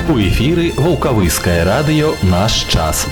У эфіры Ваўкавыскае радыё «Наш час».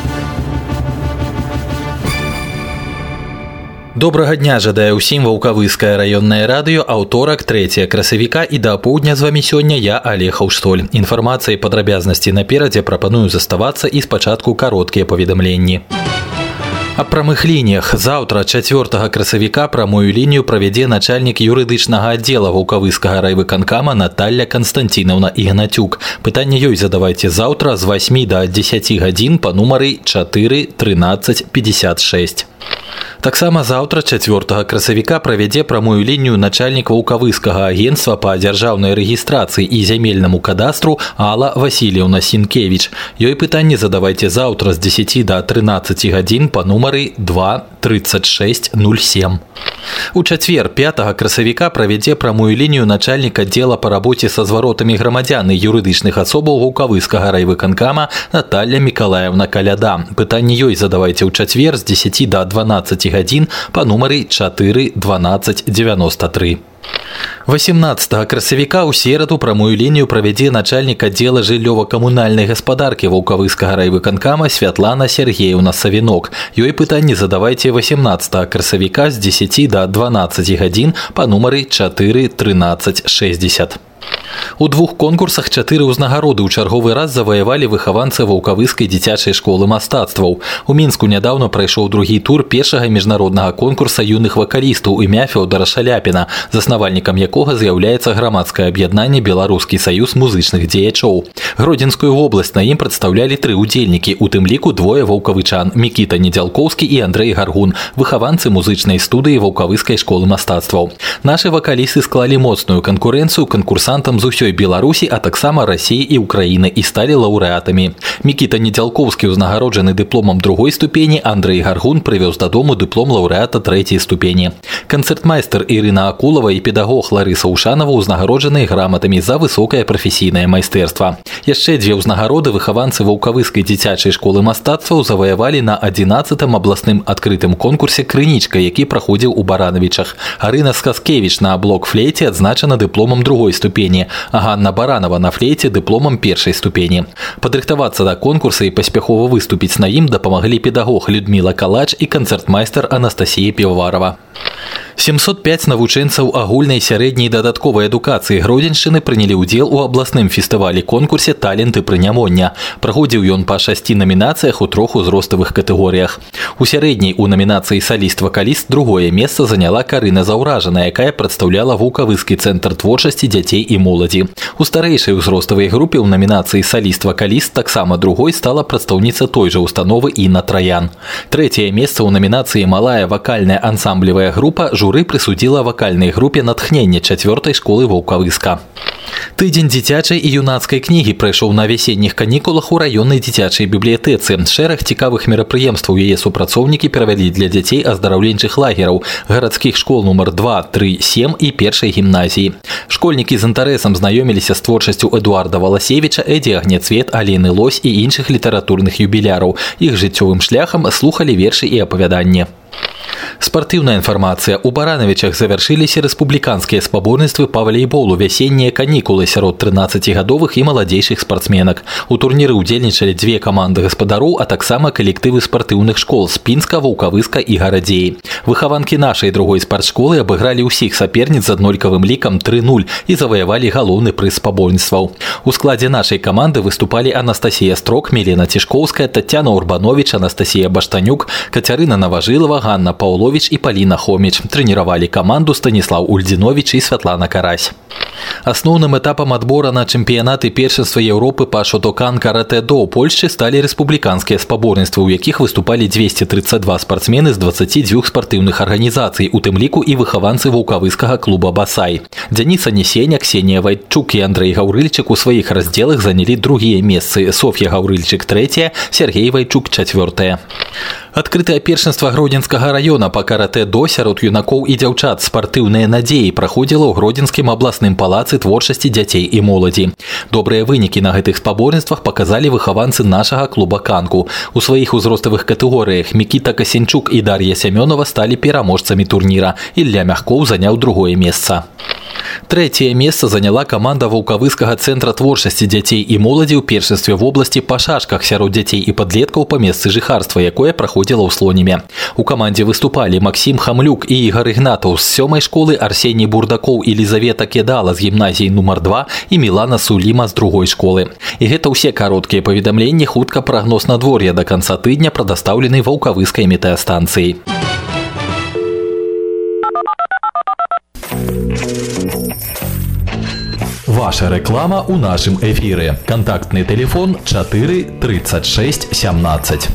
Добрага дня жадае ўсім Ваўкавыскае раённае радыё, аўторак 3 красавіка, і да апоўдня з вамі сёння я, Олег Хаўштоль. Інфармацыя і падрабязнасці наперадзе, прапаную заставацца і спачатку кароткія паведамленні. Аб прамых лініях. Заўтра, 4 красавіка, прамую лінію правядзе начальнік юрыдычнага аддзела Ваўкавыскага райвыканкама Наталья Константиновна Ігнатюк. Пытанне ёй задавайце заўтра з 8 до 10 гадзін па нумары 4 13 56. Таксама заўтра, 4 красавіка, правядзе прамую лінію начальнік Ваўкавыскага агентства па дзяржаўнай рэгістрацыі і зямельнаму кадастру Алла Васильевна Сінкевіч. Ёй пытанне задавайце заўтра з 10 до 13 гадзін па нумары 2 36 07. У чацвер, 5 красавіка, правядзе прамую лінію начальнік аддзела па рабоце са зваротамі грамадзян і юрыдычных асобаў Ваўкавыскага райвыканкама Наталья Миколаевна Каляда. Пытанне ёй задавайце ў чацвер з 10 до 12 гадзін па нумары 4 12 93. 18 красавіка ў сераду прамую лінію правядзе начальнік аддзела жыллёва-камунальнай гаспадаркі Ваўкавыскага райвыканкама Святлана Сергеевна Савінок. Ёй пытанне задавайце 18 красавіка з 10 до 12 гадзін па нумары 4 13 60. У двух конкурсах 4 ўзнагароды ў чарговы раз заваявалі выхаванцы Ваўкавыскай дзіцячай школы мастацтваў. У Мінску нядаўна прайшоў другі тур першага міжнароднага конкурса юных вакалістаў імя Фёдора Шаляпіна, заснавальнікам якога з'яўляецца грамадскае аб'яднанне Беларускі саюз музычных дзеячоў. Гродзенскую вобласць на ім прадстаўлялі 3 удзельнікі, у тым ліку двое ваўкавычан – Мікіта Недзялкоўскі і Андрэй Гаргун, выхаванцы музычнай студыі Ваўкавыскай школы мастацтваў. Нашы вакалісты склалі моцную канкурэнцыю канкурсантам з усёй Беларусі, а таксама Расіі і Украіны, і сталі лаўрэатамі. Мікіта Недзялкоўскі ўзнагароджаны дыпломам 2-й ступені, Андрэй Гаргун прывёз дадому дыплом лаўрэата 3-й ступені. Канцэртмайстар Ірына Акулава і педагог Ларыса Ушанова ўзнагароджаны граматамі за высокае прафесійнае майстэрства. Яшчэ 2 ўзнагароды выхаванцы Ваўкавыскай дзіцячай школы мастацтваў заваявалі на 11-м абласным адкрытым конкурсе «Крынічка», які праходзіў у Баранавічах. Арына Сказкевіч на блок-флейце адзначана дыпломам 2-й ступені, а Ганна Баранова на флейце дыпломам 1-й ступені. Падрыхтавацца да конкурса і паспяхова выступіць на ім дапамаглі педагог Людміла Калач і канцэртмайстар Анастасія Піваварова. 705 навучэнцаў агульнай сярэдняй дадатковай адукацыі Гродзеншчыны прынялі ўдзел у абласным фестывалі-конкурсе «Таленты прынямоння». Праходзіў ён па 6 намінацыях у 3 узроставых катэгорыях. У сярэдняй у намінацыі «Саліст-вакаліст» 2-е месца заняла Карына Заўражана, якая прадстаўляла Ваўкавыскі цэнтр творчасці дзяцей і моладзі. У старэйшай узроставай групе ў намінацыі «Саліст-вакаліст» таксама 2-й стала прадстаўніца той жа установы Інна Траян. 3-е месца ў намінацыі «Малая вакальная ансамблевая група» журы прысудзіла вакальнай групе «Натхненне» 4-й школы Ваўкавыска. Тыдзень дзіцячай і юнацкай кнігі прайшоў на вясенніх канікулах у раённай дзіцячай бібліятэцы. Шэраг цікавых мерапрыемстваў яе супрацоўнікі правялі для дзяцей аздараўленчых лагераў, гарадскіх школ нумар 2, 3, 7 і 1-й гімназіі. Школьнікі з інтарэсам знаёміліся з творчасцю Эдуарда Валасевіча, Эдзі Агняцвет, Алены Лось і іншых літаратурных юбіляраў. Іх жыццёвым шляхам слухалі вершы і апавяданні. Спартыўная інфармацыя. У Баранавічах завяршыліся рэспубліканскія спаборніцтвы па валейболу вясеннія канікулы сярод 13гадовых і маладзейшых спартсменак. У турніры ўдзельнічалі 2 каманды гаспадароў, а таксама калектывы спартыўных школ з Пінска, Ваўкавыска і Гарадзеі. Выхаванкі нашай 2-й спартшколы абыгралі ўсіх саперніц з аднолькавым лікам 3-0 і заваявалі галоўны прыз спаборніцтваў. У складзе нашай каманды выступалі Анастасія Строк, Мілена Цішкоўская, Тацяна Урбанович, Анастасія Баштанюк, Кацярына Наважылава, Ганна Паўлович і Паліна Хоміч. Трэніравалі каманду Станіслаў Ульдзіновіч і Святлана Карась. Асноўным этапам адбора на чэмпіянаты першынства Еўропы па шотокан каратэ-до ў Польшчы сталі рэспубліканскія спаборніцтвы, у якіх выступалі 232 спартсмены з 22 спартыўных арганізацый, у тым ліку і выхаванцы Ваўкавыскага клуба «Басай». Дзяніса Несеня, Ксенія Вайчук і Андрэй Гаўрыльчык у сваіх раздзелах занялі 2-е месцы, Соф'я Гаўрыльчык 3-е, Сергей Вайчук 4-е. Адкрытае першынства Гродзенскага раёна па каратэ-до сярод юнакоў і дзяўчат «Спартыўныя надзеі» праходзіла ў Гродзенскім абласным палацы творчасці дзяцей і моладзі. Добрыя вынікі на гэтых спаборніцтвах паказалі выхаванцы нашага клуба «Канку». У сваіх узроставых катэгорыях Мікіта Касенчук і Дар'я Сямёнова сталі пераможцамі турніра. Ілля Мягкоў заняў 2-е месца. Третье место заняла команда Ваўкавыскага центра творчасці дзяцей і моладзі ў першынстве в области па шашках сярод дзяцей і падлеткаў па месцы жыхарства, якое праходзіла ў Слоніме. У камандзе выступалі Максим Хамлюк і Ігор Ігнатаў з 7-й школы, Арсеній Бурдакоў і Лізавета Кедала з гімназіі нумар 2 і Мілана Суліма з 2-й школы. І гэта ўсе кароткія паведамленні, хутка прагноз надвор'я да канца тыдня прадастаўлены Ваўкавыскай метэастанцыяй. Ваша реклама у нашем эфире. Контактный телефон 4 36 17.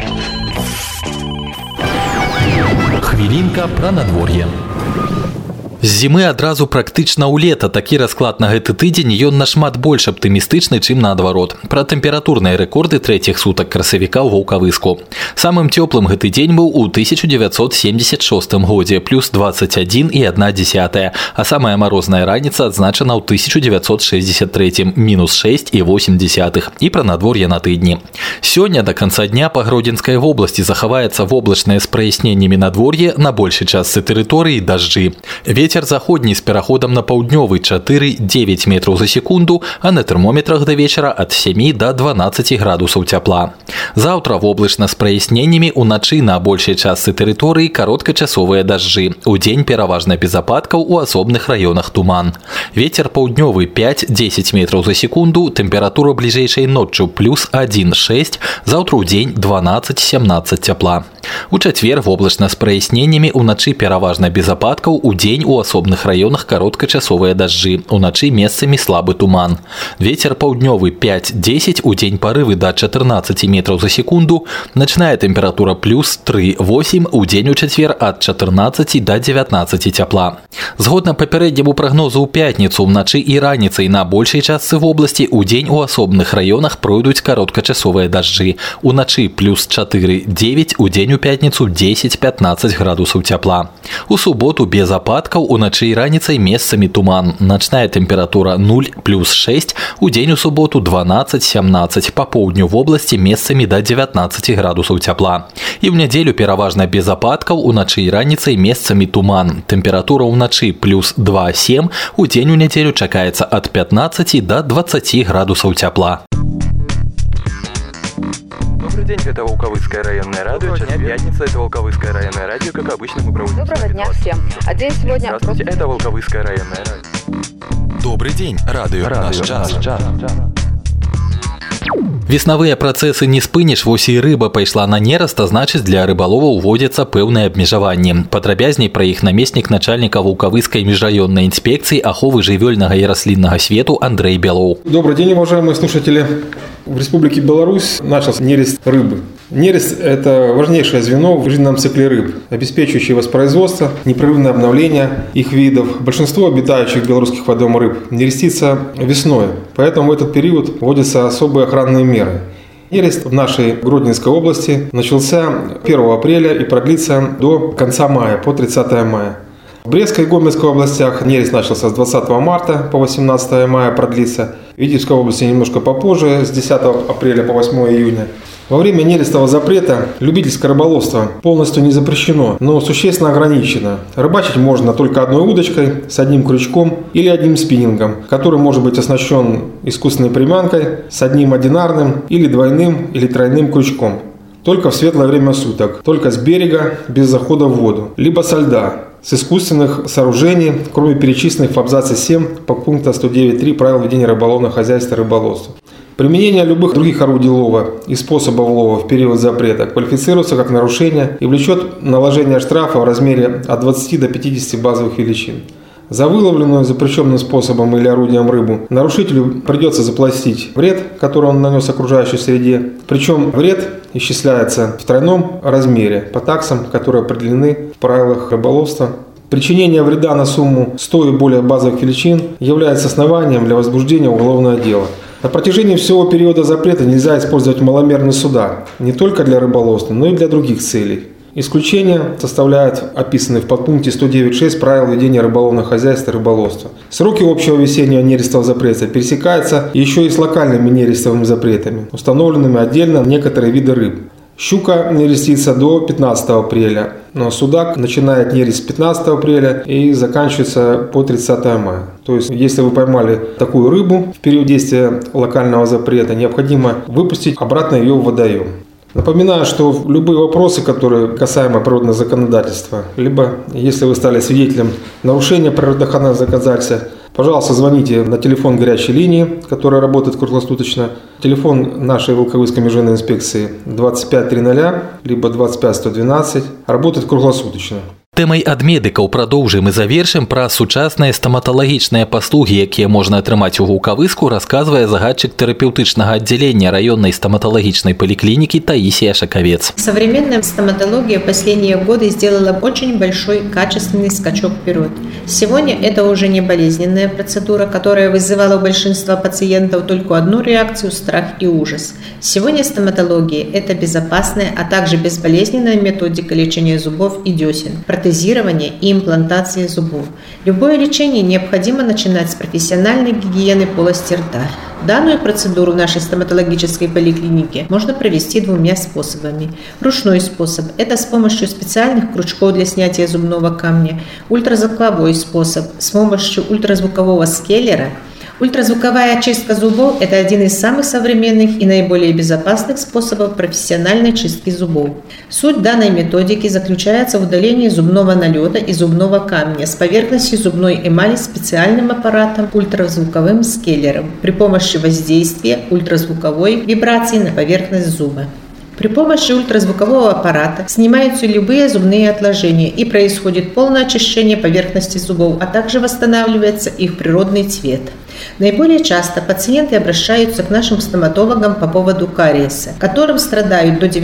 Хвилинка про надворье. З зімы адразу практычна ў лета. Такі расклад на гэты тыдзень ён нашмат больш аптымістычны, чым наадварот. Пра тэмпературныя рэкорды трэціх сутак красавіка ў Ваўкавыску. Самым цёплым гэты дзень быў у 1976 годзе, плюс 21,1, а самая марозная раніца адзначана ў 1963, мінус 6,8. І пра надвор'е на тыдні. Сёння да канца дня па Гродзенскай вобласці захаваецца воблачнае з праясненнямі надвор'е, на большай частцы тэрыторыі дажджы. Вецер заходні з пераходам на паўднёвы 4-9 метраў за секунду, а на тэрмометрах да вечара ад 7 до 12 градусаў цяпла. Заўтра воблачна з праясненнямі, уначы на большай частцы тэрыторыі кароткачасовыя дажджы. Удзень пераважна без ападкаў, у асобных раёнах туман. Вецер паўднёвы 5-10 метраў за секунду, тэмпература бліжэйшай ноччу плюс 1,6, заўтра ўдзень 12-17 цяпла. У чацвер воблачна з праясненнямі, уначы пераважна без ападкаў, удзень у асобных раёнах кароткачасовыя дажджы, уначы месцамі слабы туман. Вецер паўднёвы 5-10, удзень парывы да 14 метраў за секунду, начная тэмпература плюс 3,8, удзень у чацвер ад 14 до 19 цяпла. Згодна папярэдняму прагнозу ў пятніцу, уначы і раніцай на большай частцы вобласці, удзень у асобных раёнах пройдуць кароткачасовыя дажджы, уначы плюс 4,9, удзень у пятніцу 10-15 градусаў цяпла. У суботу без ападкаў, уначы і раніцай месцамі туман. Начная тэмпература 0 плюс 6, удзень у суботу 12-17, па поўдню вобласці месцамі да 19 градусаў цяпла. І ў нядзелю пераважна без ападкаў, уначы і раніцай месцамі туман. Тэмпература ўначы плюс 2,7, удзень у нядзелю чакаецца ад 15 до 20 градусаў цяпла. Добрый день, это Волковыцкое районное радио. Час пятница, это Волковыцкое районное радио. Как обычно, мы проводим... Доброго дня всем. А день сегодня... Здравствуйте, это Волковыцкое районное радио. Добрый день, радио «Наш час». Веснавыя працэсы не спыніш, вось і рыба пайшла на нераст, а значыць для рыбаловаў уводзяцца пэўныя абмежаванні. Падрабязней пра іх намеснік начальніка Ваўкавыскай міжраённай інспекцыі аховы жывёльнага і расліннага свету Андрей Белоў. Добрый день, уважаемые слушатели. В Республике Беларусь начался нерест рыбы. Нерест – это важнейшее звено в жизненном цикле рыб, обеспечивающее воспроизводство, непрерывное обновление их видов. Большинство обитающих в белорусских водоемах рыб нерестится весной, поэтому в этот период вводятся особые охранные меры. Нерест в нашей Гродненской области начался 1 апреля и продлится до конца мая, по 30 мая. В Брестской и Гомельской областях нерест начался с 20 марта по 18 мая, продлится. В Витебской области немножко попозже, с 10 апреля по 8 июня. Во время нерестового запрета любительское рыболовство полностью не запрещено, но существенно ограничено. Рыбачить можно только одной удочкой с одним крючком или одним спиннингом, который может быть оснащен искусственной приманкой с одним одинарным или двойным или тройным крючком. Только в светлое время суток, только с берега, без захода в воду, либо со льда, с искусственных сооружений, кроме перечисленных в абзаце 7 подпункта 109.3 правил ведения рыболовного хозяйства и рыболовства. Применение любых других орудий лова и способов лова в период запрета квалифицируется как нарушение и влечет наложение штрафа в размере от 20 до 50 базовых величин. За выловленную запрещенным способом или орудием рыбу нарушителю придется заплатить вред, который он нанес окружающей среде. Причем вред исчисляется в тройном размере по таксам, которые определены в правилах рыболовства. Причинение вреда на сумму 100 и более базовых величин является основанием для возбуждения уголовного дела. На протяжении всего периода запрета нельзя использовать маломерные суда, не только для рыболовства, но и для других целей. Исключение составляют описанные в подпункте 109.6 правил ведения рыболовного хозяйства и рыболовства. Сроки общего весеннего нерестового запрета пересекаются еще и с локальными нерестовыми запретами, установленными отдельно на некоторые виды рыб. Щука нерестится до 15 апреля, Но судак начинает нерест с 15 апреля и заканчивается по 30 мая. То есть, если вы поймали такую рыбу в период действия локального запрета, необходимо выпустить обратно ее в водоем. Напоминаю, что любые вопросы, которые касаемо природного законодательства, либо если вы стали свидетелем нарушения природоохранного законодательства, пожалуйста, звоните на телефон горячей линии, которая работает круглосуточно. Телефон нашей Волковыской межрайонной инспекции 2500, либо 25112, работает круглосуточно. Тэмай ад медыкаў прадоўжым і завершым пра сучасныя стаматалагічныя паслугі, якія можна атрымаць у Вулкавыску, рассказывае загадчык тэрапеўтычнага аддзялення раённай стоматологичной поликлиники Таисия Шаковец. Современная стоматология в последние годы сделала очень большой качественный скачок вперед. Сегодня это уже не болезненная процедура, которая вызывала у большинства пациентов только одну реакцию – страх и ужас. Сегодня стоматология – это безопасная, а также безболезненная методика лечения зубов и десен, протезирования и имплантации зубов. Любое лечение необходимо начинать с профессиональной гигиены полости рта. Данную процедуру в нашей стоматологической поликлинике можно провести двумя способами. Ручной способ – это с помощью специальных крючков для снятия зубного камня. Ультразвуковой способ – с помощью ультразвукового скеллера. Ультразвуковая очистка зубов – это один из самых современных и наиболее безопасных способов профессиональной чистки зубов. Суть данной методики заключается в удалении зубного налета и зубного камня с поверхности зубной эмали специальным аппаратом ультразвуковым скеллером при помощи воздействия ультразвуковой вибрации на поверхность зуба. При помощи ультразвукового аппарата снимаются любые зубные отложения и происходит полное очищение поверхности зубов, а также восстанавливается их природный цвет. Наиболее часто пациенты обращаются к нашим стоматологам по поводу кариеса, которым страдают до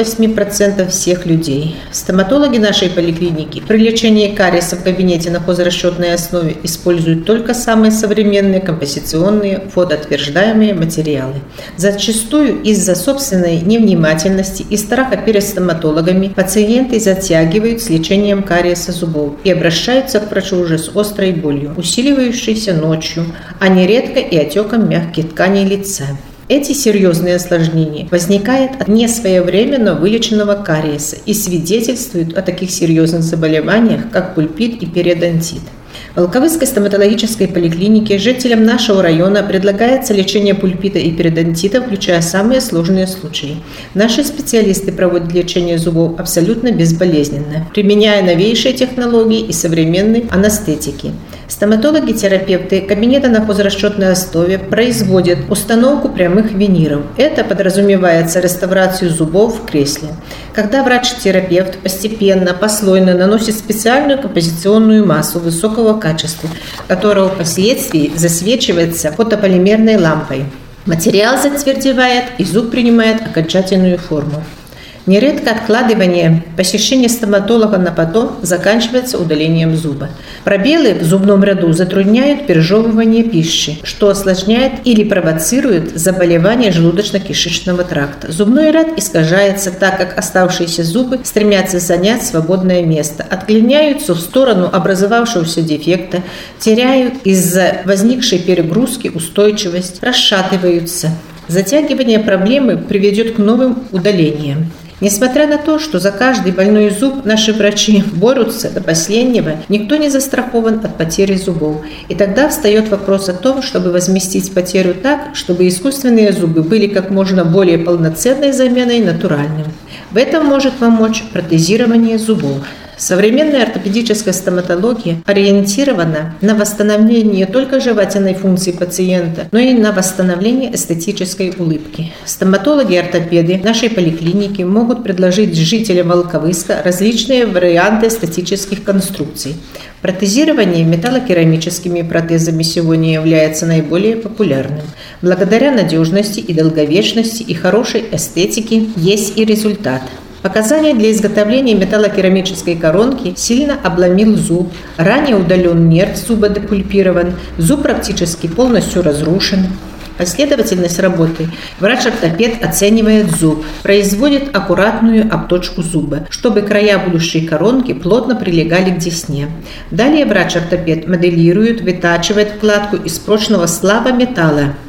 98% всех людей. Стоматологи нашей поликлиники при лечении кариеса в кабинете на хозрасчетной основе используют только самые современные композиционные фотоотверждаемые материалы. Зачастую из-за собственной невнимательности и страха перед стоматологами пациенты затягивают с лечением кариеса зубов и обращаются к врачу уже с острой болью, усиливающейся ночью, а нередко и отеком мягких тканей лица. Эти серьезные осложнения возникают от несвоевременно вылеченного кариеса и свидетельствуют о таких серьезных заболеваниях, как пульпит и периодонтит. В Волковыской стоматологической поликлинике жителям нашего района предлагается лечение пульпита и периодонтита, включая самые сложные случаи. Наши специалисты проводят лечение зубов абсолютно безболезненно, применяя новейшие технологии и современные анестетики. Стоматологи-терапевты кабинета на хозрасчетной основе производят установку прямых виниров. Это подразумевается реставрацию зубов в кресле. Когда врач-терапевт постепенно, послойно наносит специальную композиционную массу высокого качества, которая впоследствии засвечивается фотополимерной лампой. Материал затвердевает, и зуб принимает окончательную форму. Нередко откладывание посещения стоматолога на потом заканчивается удалением зуба. Пробелы в зубном ряду затрудняют пережевывание пищи, что осложняет или провоцирует заболевание желудочно-кишечного тракта. Зубной ряд искажается, так как оставшиеся зубы стремятся занять свободное место, отклоняются в сторону образовавшегося дефекта, теряют из-за возникшей перегрузки устойчивость, расшатываются. Затягивание проблемы приведет к новым удалениям. Несмотря на то, что за каждый больной зуб наши врачи борются до последнего, никто не застрахован от потери зубов. И тогда встает вопрос о том, чтобы возместить потерю так, чтобы искусственные зубы были как можно более полноценной заменой натуральным. В этом может помочь протезирование зубов. Современная ортопедическая стоматология ориентирована на восстановление не только жевательной функции пациента, но и на восстановление эстетической улыбки. Стоматологи-ортопеды нашей поликлиники могут предложить жителям Волковыска различные варианты эстетических конструкций. Протезирование металлокерамическими протезами сегодня является наиболее популярным. Благодаря надежности и долговечности и хорошей эстетике есть и результат. Показания для изготовления металлокерамической коронки: сильно обломил зуб, ранее удален нерв зуба, депульпирован, зуб практически полностью разрушен. Последовательность работы. Врач-ортопед оценивает зуб, производит аккуратную обточку зуба, чтобы края будущей коронки плотно прилегали к десне. Далее врач-ортопед моделирует, вытачивает вкладку из прочного сплава металла,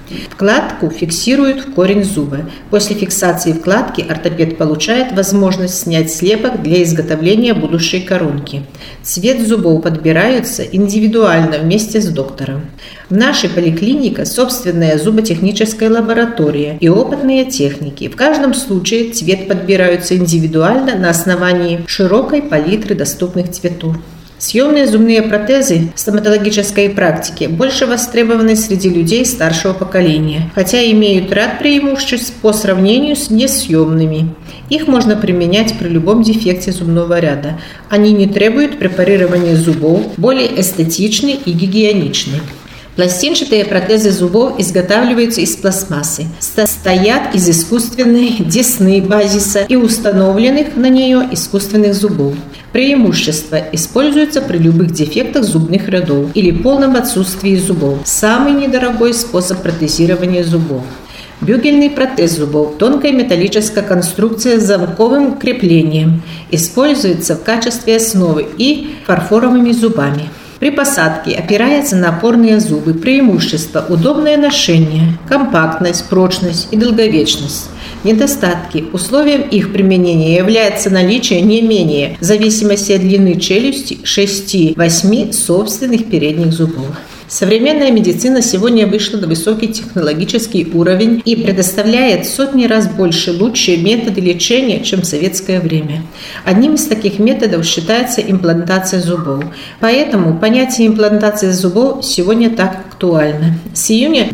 Вкладку фиксируют в корень зуба. После фиксации вкладки ортопед получает возможность снять слепок для изготовления будущей коронки. Цвет зубов подбирается индивидуально вместе с доктором. В нашей поликлинике собственная зуботехническая лаборатория и опытные техники. В каждом случае цвет подбираются индивидуально на основании широкой палитры доступных цветов. Съемные зубные протезы в стоматологической практике больше востребованы среди людей старшего поколения, хотя имеют ряд преимуществ по сравнению с несъемными. Их можно применять при любом дефекте зубного ряда. Они не требуют препарирования зубов, более эстетичны и гигиеничны. Пластинчатые протезы зубов изготавливаются из пластмассы, состоят из искусственной десны базиса и установленных на нее искусственных зубов. Преимущество используется при любых дефектах зубных рядов или полном отсутствии зубов. Самый недорогой способ протезирования зубов. Бюгельный протез зубов, тонкая металлическая конструкция с замковым креплением, используется в качестве основы и фарфоровыми зубами. При посадке опирается на опорные зубы. Преимущества: удобное ношение, компактность, прочность и долговечность. Недостатки: условием их применения является наличие не менее, в зависимости от длины челюсти, 6-8 собственных передних зубов. Современная медицина сегодня вышла на высокий технологический уровень и предоставляет в сотни раз больше лучшие методы лечения, чем в советское время. Одним из таких методов считается имплантация зубов. Поэтому понятие имплантации зубов сегодня так актуально. С июня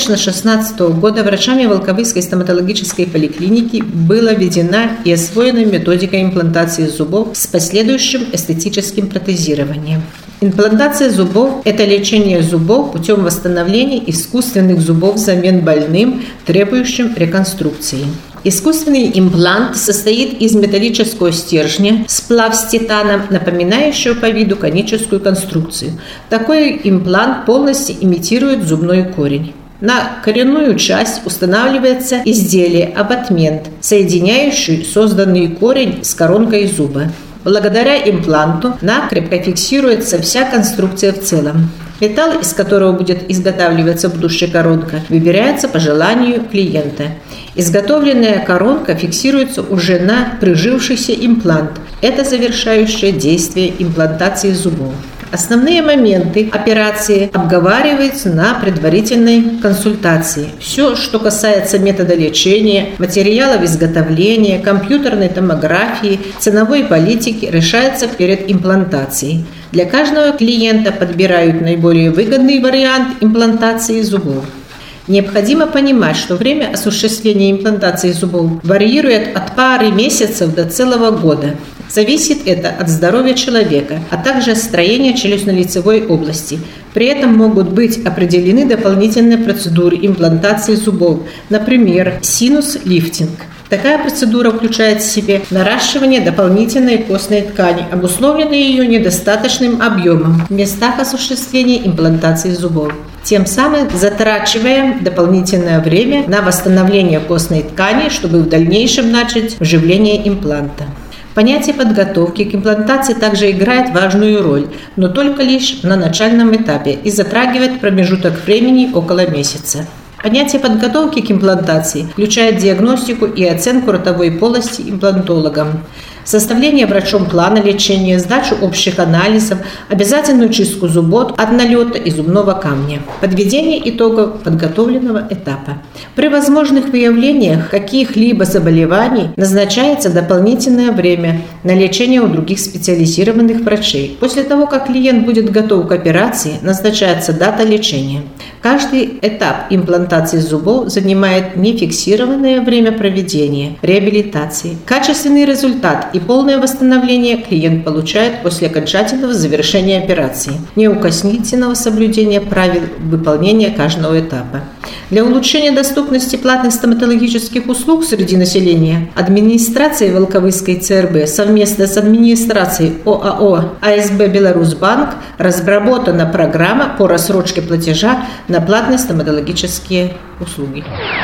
2016 года врачами Волковыской стоматологической поликлиники была введена и освоена методика имплантации зубов с последующим эстетическим протезированием. Имплантация зубов – это лечение зубов путем восстановления искусственных зубов взамен больным, требующим реконструкции. Искусственный имплант состоит из металлического стержня, сплав с титаном, напоминающего по виду коническую конструкцию. Такой имплант полностью имитирует зубной корень. На коренную часть устанавливается изделие абатмент, соединяющий созданный корень с коронкой зуба. Благодаря импланту накрепко фиксируется вся конструкция в целом. Металл, из которого будет изготавливаться будущая коронка, выбирается по желанию клиента. Изготовленная коронка фиксируется уже на прижившийся имплант. Это завершающее действие имплантации зубов. Основные моменты операции обговариваются на предварительной консультации. Все, что касается метода лечения, материалов изготовления, компьютерной томографии, ценовой политики, решается перед имплантацией. Для каждого клиента подбирают наиболее выгодный вариант имплантации зубов. Необходимо понимать, что время осуществления имплантации зубов варьирует от пары месяцев до целого года. Зависит это от здоровья человека, а также от строения челюстно-лицевой области. При этом могут быть определены дополнительные процедуры имплантации зубов, например, синус-лифтинг. Такая процедура включает в себя наращивание дополнительной костной ткани, обусловленной ее недостаточным объемом в местах осуществления имплантации зубов, тем самым затрачивая дополнительное время на восстановление костной ткани, чтобы в дальнейшем начать вживление импланта. Понятие подготовки к имплантации также играет важную роль, но только лишь на начальном этапе и затрагивает промежуток времени около месяца. Понятие подготовки к имплантации включает диагностику и оценку ротовой полости имплантологом, составление врачом плана лечения, сдачу общих анализов, обязательную чистку зубов от налета и зубного камня, подведение итогов подготовленного этапа. При возможных выявлениях каких-либо заболеваний назначается дополнительное время на лечение у других специализированных врачей. После того, как клиент будет готов к операции, назначается дата лечения. Каждый этап имплантации зубов занимает нефиксированное время проведения реабилитации. Качественный результат и полное восстановление клиент получает после окончательного завершения операции, неукоснительного соблюдения правил выполнения каждого этапа. Для улучшения доступности платных стоматологических услуг среди населения администрация Волковыской ЦРБ совместно с администрацией ОАО АСБ «Беларусьбанк» разработана программа по рассрочке платежа на платные стоматологические услуги.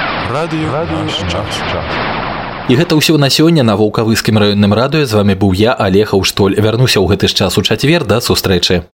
Радыё час. І гэта ўсё на сёння на Ваўкавыскім раённым радыё. З вами быў я, Алег Аўштоль. Вярнуся ў гэты ж час у чацвер. Да сустрэчы.